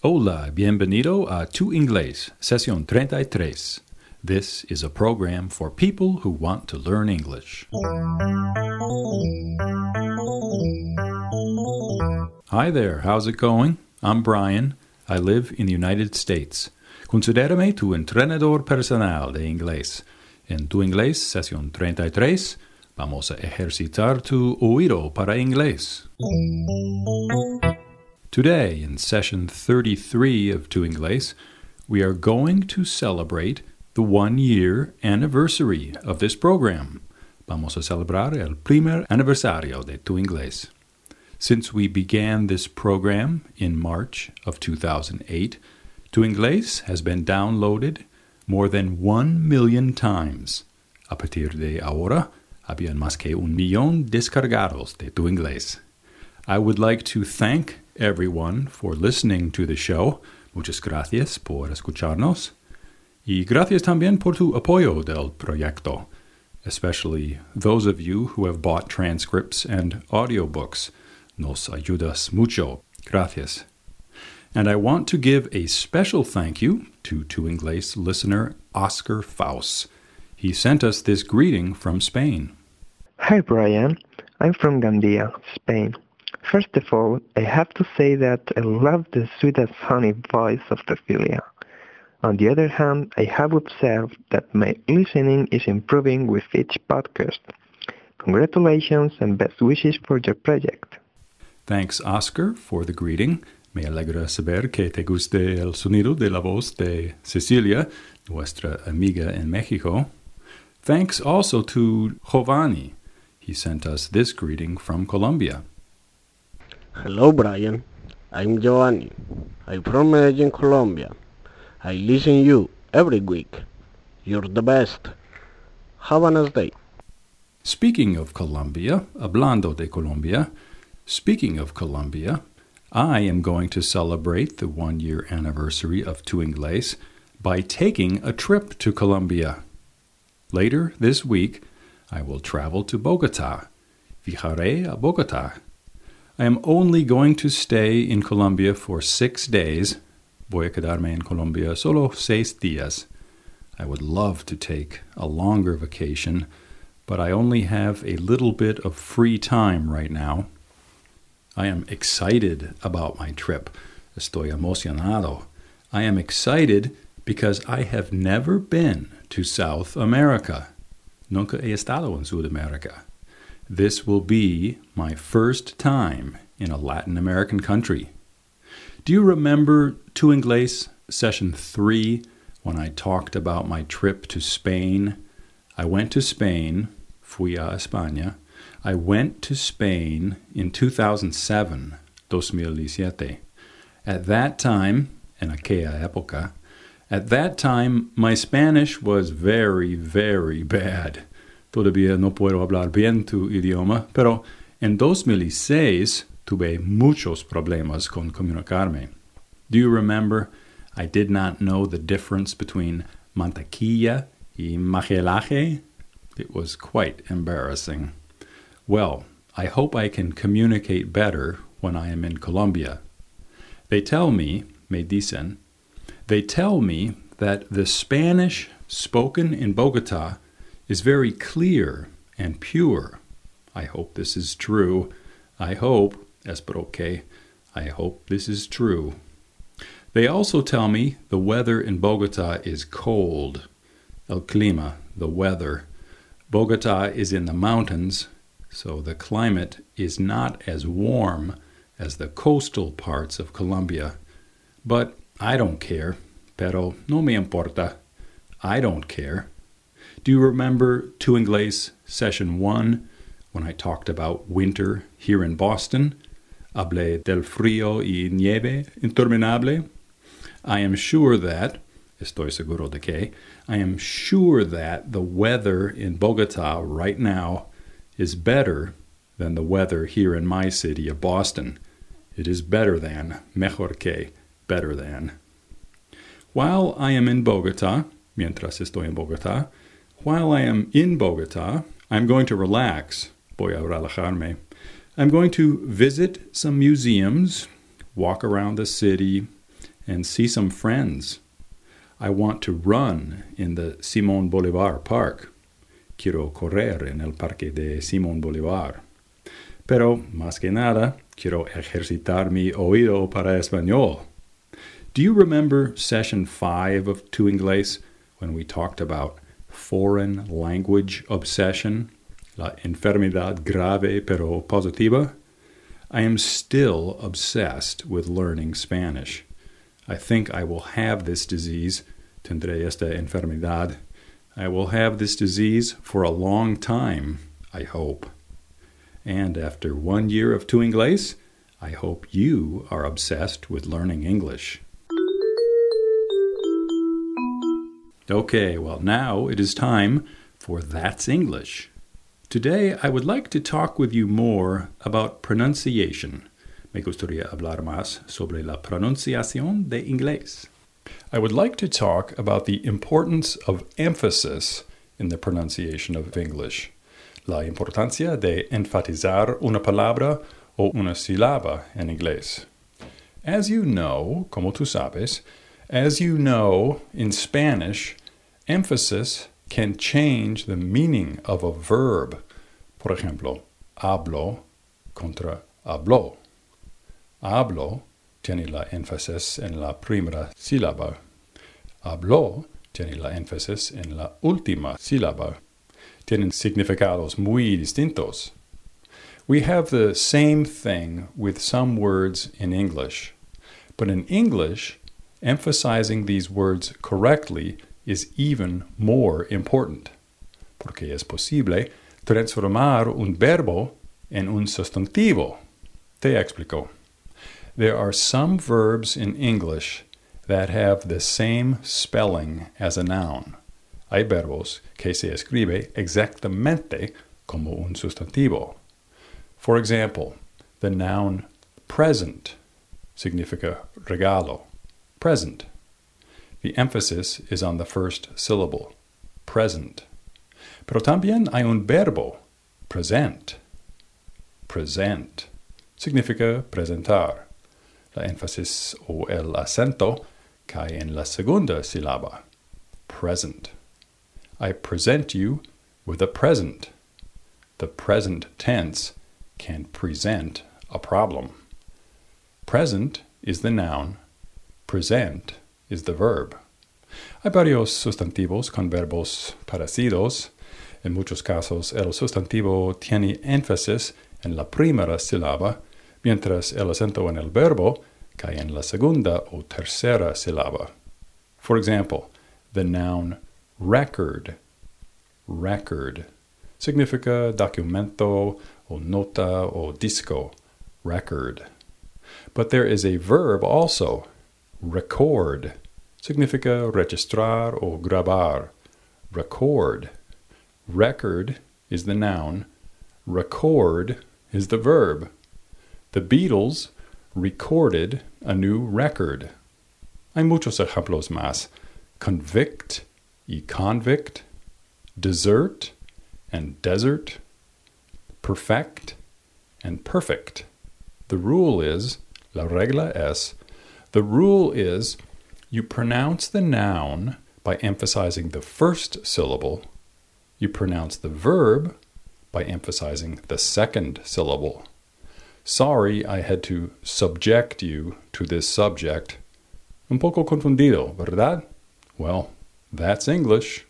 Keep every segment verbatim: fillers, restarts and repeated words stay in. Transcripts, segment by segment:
Hola, bienvenido a Tu Inglés, sesión treinta y tres. This is a program for people who want to learn English. Hi there, how's it going? I'm Brian. I live in the United States. Considérame tu entrenador personal de inglés. En Tu Inglés, sesión treinta y tres, vamos a ejercitar tu oído para inglés. Today, in session thirty-three of Tu Inglés, we are going to celebrate the one-year anniversary of this program. Vamos a celebrar el primer aniversario de Tu Inglés. Since we began this program in March of two thousand eight, Tu Inglés has been downloaded more than one million times. A partir de ahora, habían más que un millón descargados de Tu Inglés. I would like to thank everyone for listening to the show. Muchas gracias por escucharnos. Y gracias también por tu apoyo del proyecto, especially those of you who have bought transcripts and audiobooks. Nos ayudas mucho. Gracias. And I want to give a special thank you to Tu Inglés listener Oscar Faust. He sent us this greeting from Spain. Hi Brian, I'm from Gandia, Spain. First of all, I have to say that I love the sweet and funny voice of Cecilia. On the other hand, I have observed that my listening is improving with each podcast. Congratulations and best wishes for your project. Thanks, Oscar, for the greeting. Me alegra saber que te guste el sonido de la voz de Cecilia, nuestra amiga en Mexico. Thanks also to Giovanni. He sent us this greeting from Colombia. Hello, Brian. I'm Giovanni. I'm from Medellin, Colombia. I listen you every week. You're the best. Have a nice day. Speaking of Colombia, hablando de Colombia, speaking of Colombia, I am going to celebrate the one-year anniversary of Tu Inglés by taking a trip to Colombia. Later this week, I will travel to Bogotá. Viajaré a Bogotá. I am only going to stay in Colombia for six days. Voy a quedarme en Colombia solo seis días. I would love to take a longer vacation, but I only have a little bit of free time right now. I am excited about my trip. Estoy emocionado. I am excited because I have never been to South America. Nunca he estado en Sudamérica. This will be my first time in a Latin American country. Do you remember Tu Inglés session three when I talked about my trip to Spain? I went to Spain, fui a España. I went to Spain in two thousand seven, dos mil siete. At that time, en aquella época, at that time, my Spanish was very, very bad. Todavía no puedo hablar bien tu idioma, pero en dos mil seis tuve muchos problemas con comunicarme. Do you remember? I did not know the difference between mantequilla y majelaje. It was quite embarrassing. Well, I hope I can communicate better when I am in Colombia. They tell me, me dicen, they tell me that the Spanish spoken in Bogotá is very clear and pure. I hope this is true. I hope, espero que, I hope this is true. They also tell me the weather in Bogotá is cold. El clima, the weather. Bogotá is in the mountains, so the climate is not as warm as the coastal parts of Colombia. But I don't care. Pero no me importa. I don't care. Do you remember Tu Inglés session one when I talked about winter here in Boston? Hablé del frío y nieve interminable. I am sure that, estoy seguro de que, I am sure that the weather in Bogotá right now is better than the weather here in my city of Boston. It is better than, mejor que, better than. While I am in Bogotá, mientras estoy en Bogotá, while I am in Bogotá, I'm going to relax. Voy a relajarme. I'm going to visit some museums, walk around the city, and see some friends. I want to run in the Simón Bolívar Park. Quiero correr en el Parque de Simón Bolívar. Pero, más que nada, quiero ejercitar mi oído para español. Do you remember session five of Tu Inglés when we talked about foreign language obsession, la enfermedad grave pero positiva? I am still obsessed with learning Spanish. I think I will have this disease, tendré esta enfermedad. I will have this disease for a long time, I hope. And after one year of Tu Inglés, I hope you are obsessed with learning English. Okay, well, now it is time for That's English. Today, I would like to talk with you more about pronunciation. Me gustaría hablar más sobre la pronunciación de inglés. I would like to talk about the importance of emphasis in the pronunciation of English. La importancia de enfatizar una palabra o una sílaba en inglés. As you know, como tú sabes, as you know, in Spanish, emphasis can change the meaning of a verb. Por ejemplo, hablo contra habló. Hablo tiene la énfasis en la primera sílaba. Habló tiene la énfasis en la última sílaba. Tienen significados muy distintos. We have the same thing with some words in English. But in English, emphasizing these words correctly is even more important, porque es posible transformar un verbo en un sustantivo. Te explico. There are some verbs in English that have the same spelling as a noun. Hay verbos que se escribe exactamente como un sustantivo. For example, the noun present significa regalo. Present. The emphasis is on the first syllable. Present. Pero también hay un verbo. Present. Present. Significa presentar. La énfasis o el acento cae en la segunda sílaba. Present. I present you with a present. The present tense can present a problem. Present is the noun. Present is the verb. Hay varios sustantivos con verbos parecidos. En muchos casos, el sustantivo tiene énfasis en la primera sílaba, mientras el acento en el verbo cae en la segunda o tercera sílaba. For example, the noun record. Record significa documento o nota o disco. Record. But there is a verb also. Record. Significa registrar o grabar. Record. Record is the noun. Record is the verb. The Beatles recorded a new record. Hay muchos ejemplos más. Convict y convict. Desert and desert. Perfect and perfect. The rule is, la regla es, the rule is you pronounce the noun by emphasizing the first syllable. You pronounce the verb by emphasizing the second syllable. Sorry I had to subject you to this subject. Un poco confundido, ¿verdad? Well, that's English.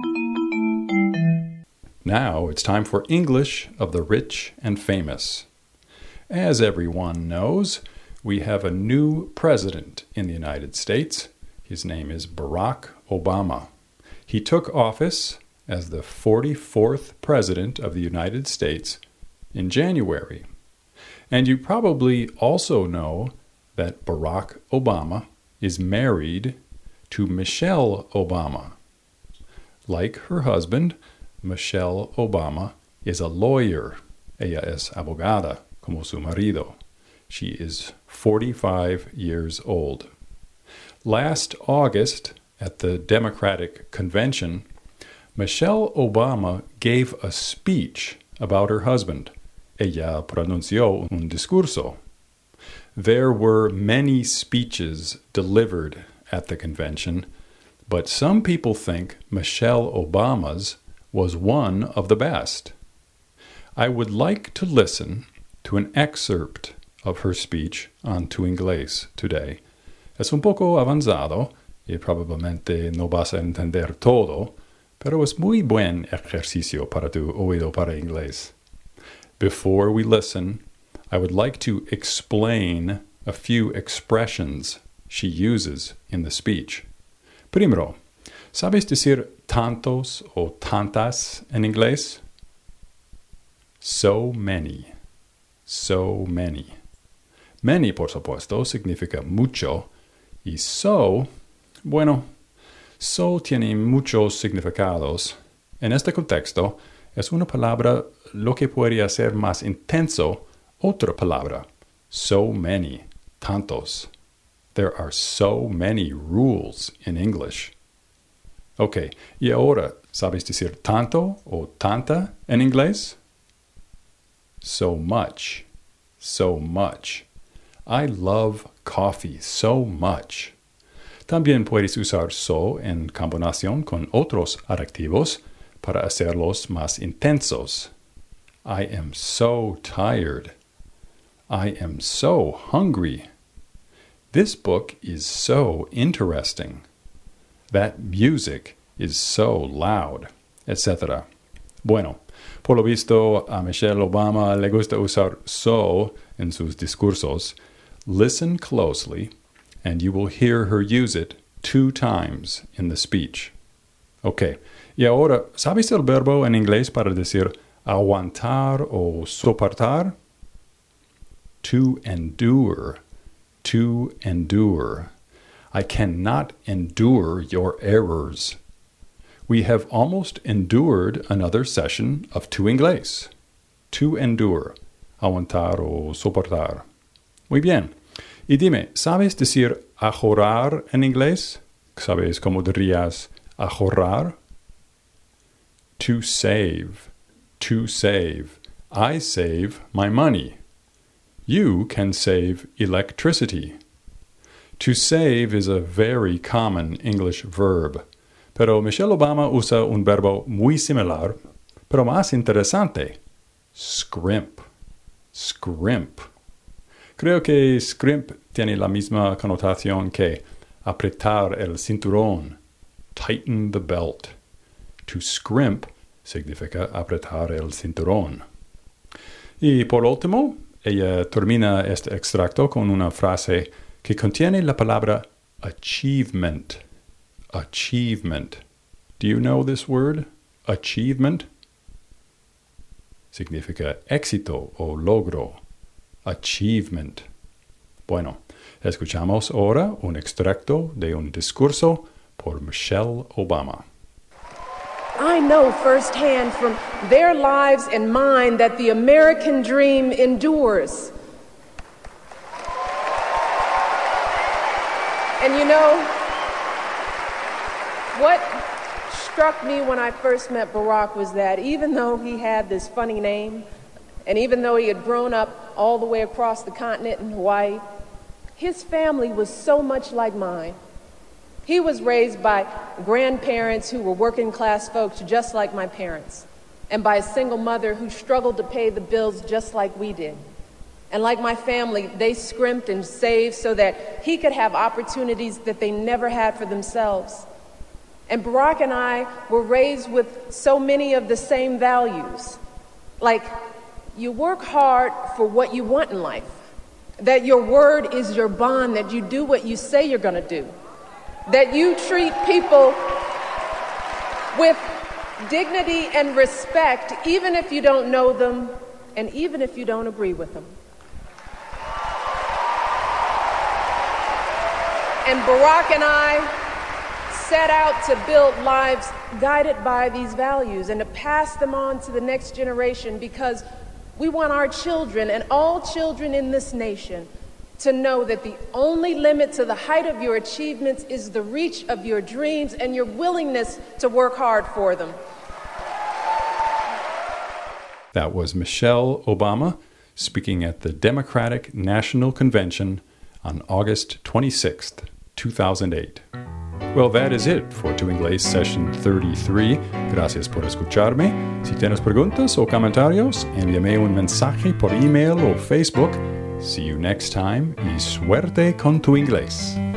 Now it's time for English of the rich and famous. As everyone knows, we have a new president in the United States. His name is Barack Obama. He took office as the forty-fourth president of the United States in January. And you probably also know that Barack Obama is married to Michelle Obama. Like her husband, Michelle Obama is a lawyer. Ella es abogada, como su marido. She is forty-five years old. Last August, at the Democratic Convention, Michelle Obama gave a speech about her husband. Ella pronunció un discurso. There were many speeches delivered at the convention, but some people think Michelle Obama's was one of the best. I would like to listen to an excerpt of her speech on Tu Inglés today. Es un poco avanzado y probablemente no vas a entender todo, pero es muy buen ejercicio para tu oído para inglés. Before we listen, I would like to explain a few expressions she uses in the speech. Primero, ¿sabes decir tantos o tantas en inglés? So many. So many. Many, por supuesto, significa mucho, y so, bueno, so tiene muchos significados. En este contexto, es una palabra lo que puede hacer más intenso otra palabra. So many, tantos. There are so many rules in English. Ok, y ahora, ¿sabes decir tanto o tanta en inglés? So much. So much. I love coffee so much. También puedes usar so en combinación con otros adjetivos para hacerlos más intensos. I am so tired. I am so hungry. This book is so interesting. That music is so loud, etcétera. Bueno, por lo visto a Michelle Obama le gusta usar so en sus discursos. Listen closely, and you will hear her use it two times in the speech. Ok, y ahora, ¿sabes el verbo en inglés para decir aguantar o soportar? To endure. To endure. I cannot endure your errors. We have almost endured another session of Tu Inglés. To endure. Aguantar o soportar. Muy bien. Y dime, ¿sabes decir ahorrar en inglés? ¿Sabes cómo dirías ahorrar? To save. To save. I save my money. You can save electricity. To save is a very common English verb, pero Michelle Obama usa un verbo muy similar, pero más interesante. Scrimp. Scrimp. Creo que scrimp tiene la misma connotación que apretar el cinturón. Tighten the belt. To scrimp significa apretar el cinturón. Y por último, ella termina este extracto con una frase que contiene la palabra achievement. Achievement. Do you know this word? Achievement. Significa éxito o logro. Achievement. Bueno, escuchamos ahora un extracto de un discurso por Michelle Obama. I know firsthand from their lives and mine that the American dream endures. And you know, what struck me when I first met Barack was that even though he had this funny name, and even though he had grown up all the way across the continent in Hawaii, his family was so much like mine. He was raised by grandparents who were working class folks just like my parents, and by a single mother who struggled to pay the bills just like we did. And like my family, they scrimped and saved so that he could have opportunities that they never had for themselves. And Barack and I were raised with so many of the same values. Like, you work hard for what you want in life. That your word is your bond, that you do what you say you're gonna do. That you treat people with dignity and respect, even if you don't know them, and even if you don't agree with them. And Barack and I set out to build lives guided by these values and to pass them on to the next generation, because we want our children and all children in this nation to know that the only limit to the height of your achievements is the reach of your dreams and your willingness to work hard for them. That was Michelle Obama speaking at the Democratic National Convention on August twenty-sixth, two thousand eight. Well, that is it for Tu Inglés Session thirty-three. Gracias por escucharme. Si tienes preguntas o comentarios, envíame un mensaje por email o Facebook. See you next time y suerte con tu inglés.